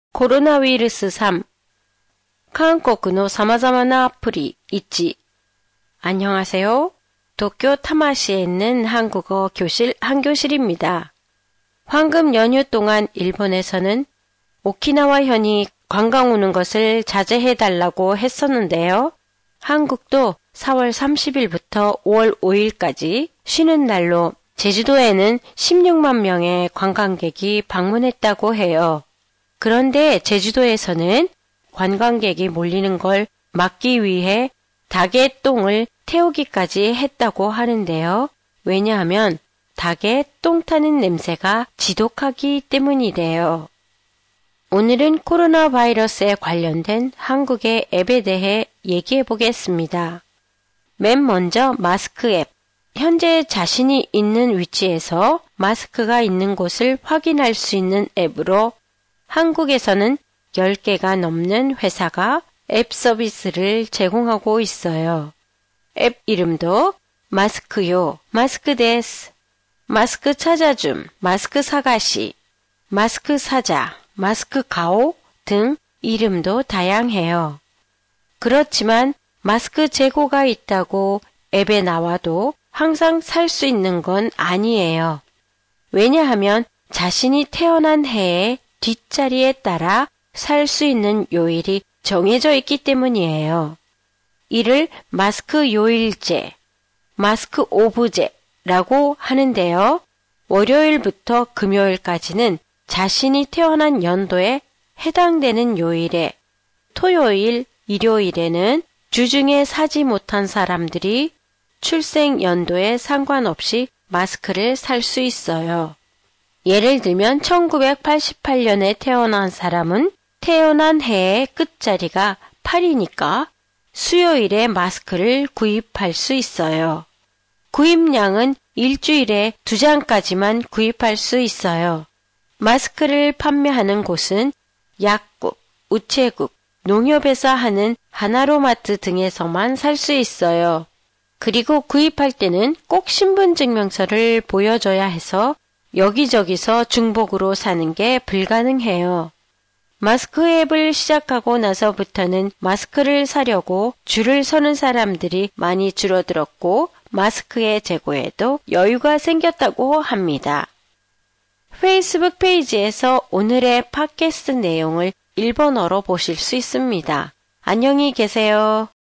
コロナウイルス3韓国の様々なアプリ 1 안녕하세요. 도쿄 타마시에 있는 한국어 교실 한교실입니다. 황금 연휴 동안 일본에서는 오키나와현이 관광 오는 것을 자제해달라고 했었는데요. 한국도 4월 30일부터 5월 5일까지 쉬는 날로 제주도에는 16만 명의 관광객이 방문했다고 해요. 그런데 제주도에서는 관광객이 몰리는 걸 막기 위해 닭의 똥을 태우기까지 했다고 하는데요. 왜냐하면 닭의 똥 타는 냄새가 지독하기 때문이래요. 오늘은 코로나 바이러스에 관련된 한국의 앱에 대해 얘기해 보겠습니다. 맨 먼저 마스크 앱. 현재 자신이 있는 위치에서 마스크가 있는 곳을 확인할 수 있는 앱으로 한국에서는 10개가 넘는 회사가 앱 서비스를 제공하고 있어요. 앱 이름도 마스크요, 마스크 데스, 마스크 찾아줌, 마스크 사가시, 마스크 사자, 마스크 가오 등 이름도 다양해요. 그렇지만 마스크 재고가 있다고 앱에 나와도 항상 살 수 있는 건 아니에요. 왜냐하면 자신이 태어난 해의 뒷자리에 따라 살 수 있는 요일이 정해져 있기 때문이에요. 이를 마스크 요일제, 마스크 오브제라고 하는데요. 월요일부터 금요일까지는 자신이 태어난 연도에 해당되는 요일에, 토요일, 일요일에는 주중에 사지 못한 사람들이 출생 연도에 상관없이 마스크를 살 수 있어요. 예를 들면 1988년에 태어난 사람은 태어난 해의 끝자리가 8이니까 수요일에 마스크를 구입할 수 있어요. 구입량은 일주일에 2장까지만 구입할 수 있어요. 마스크를 판매하는 곳은 약국, 우체국, 농협에서 하는 하나로마트 등에서만 살 수 있어요. 그리고 구입할 때는 꼭 신분증명서를 보여줘야 해서 여기저기서 중복으로 사는 게 불가능해요. 마스크 앱을 시작하고 나서부터는 마스크를 사려고 줄을 서는 사람들이 많이 줄어들었고 마스크의 재고에도 여유가 생겼다고 합니다. 페이스북 페이지에서 오늘의 팟캐스트 내용을 일본어로 보실 수 있습니다. 안녕히 계세요.